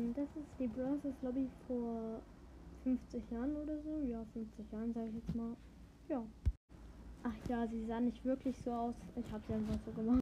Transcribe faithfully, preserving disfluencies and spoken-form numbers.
Ähm, das ist die Bros. Lobby vor fünfzig Jahren oder so. Ja, fünfzig Jahren sage ich jetzt mal. Ja. Ach ja, sie sah nicht wirklich so aus. Ich habe sie einfach so gemacht.